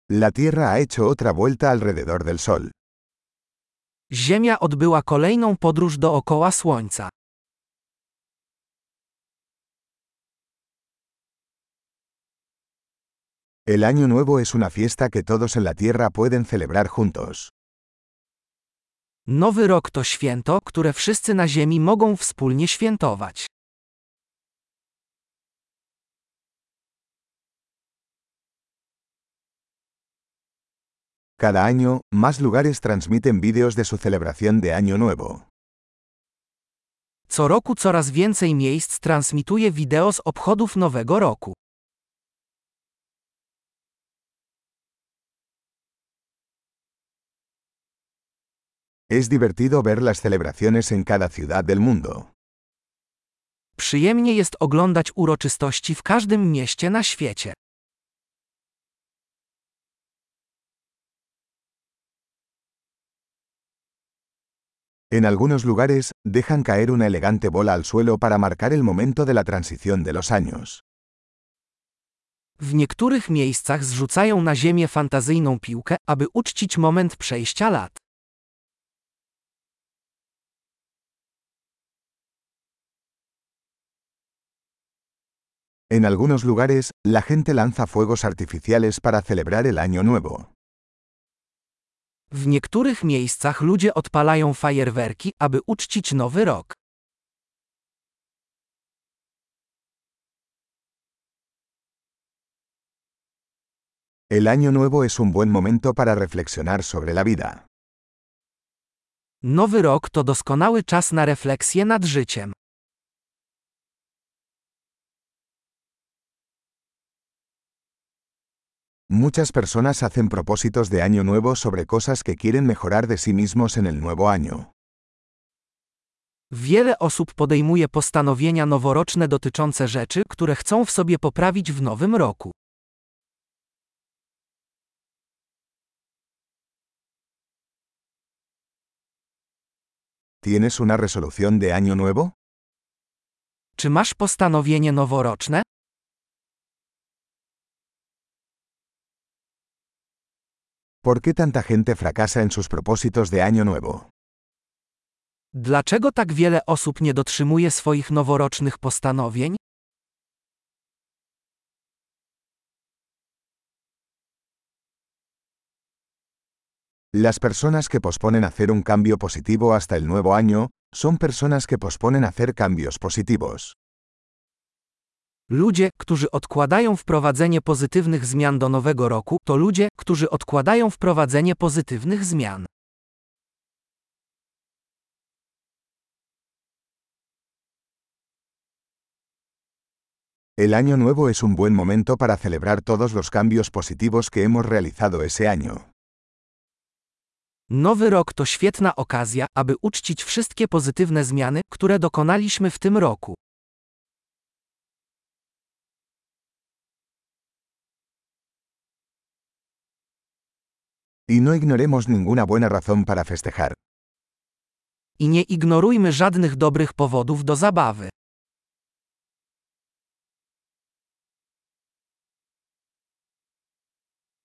La Tierra ha hecho otra vuelta alrededor del Sol. Ziemia odbyła kolejną podróż dookoła Słońca. El Año Nuevo es una fiesta que todos en la Tierra pueden celebrar juntos. Nowy rok to święto, które wszyscy na Ziemi mogą wspólnie świętować. Cada año, más lugares transmiten vídeos de su celebración de Año Nuevo. Co roku coraz więcej miejsc transmituje wideo z obchodów Nowego Roku. Es divertido ver las celebraciones en cada ciudad del mundo. Przyjemnie jest oglądać uroczystości w każdym mieście na świecie. En algunos lugares, dejan caer una elegante bola al suelo para marcar el momento de la transición de los años. W niektórych miejscach zrzucają na ziemię fantazyjną piłkę, aby uczcić moment przejścia lat. En algunos lugares, la gente lanza fuegos artificiales para celebrar el Año Nuevo. W niektórych miejscach ludzie odpalają fajerwerki, aby uczcić Nowy Rok. El Año Nuevo es un buen momento para reflexionar sobre la vida. Nowy Rok to doskonały czas na refleksję nad życiem. Muchas personas hacen propósitos de Año Nuevo sobre cosas que quieren mejorar de sí mismos en el nuevo año. Wiele osób podejmuje postanowienia noworoczne dotyczące rzeczy, które chcą w sobie poprawić w nowym roku. ¿Tienes una resolución de Año Nuevo? Czy masz postanowienie noworoczne? ¿Por qué tanta gente fracasa en sus propósitos de Año Nuevo? Dlaczego tak wiele osób nie dotrzymuje swoich noworocznych postanowień? Las personas que posponen hacer un cambio positivo hasta el nuevo año, son personas que posponen hacer cambios positivos. Ludzie, którzy odkładają wprowadzenie pozytywnych zmian do nowego roku, to ludzie, którzy odkładają wprowadzenie pozytywnych zmian. El Año Nuevo es un buen momento para celebrar todos los cambios positivos que hemos realizado ese año. Nowy rok to świetna okazja, aby uczcić wszystkie pozytywne zmiany, które dokonaliśmy w tym roku. Y no ignoremos ninguna buena razón para festejar. I nie ignorujmy żadnych dobrych powodów do zabawy.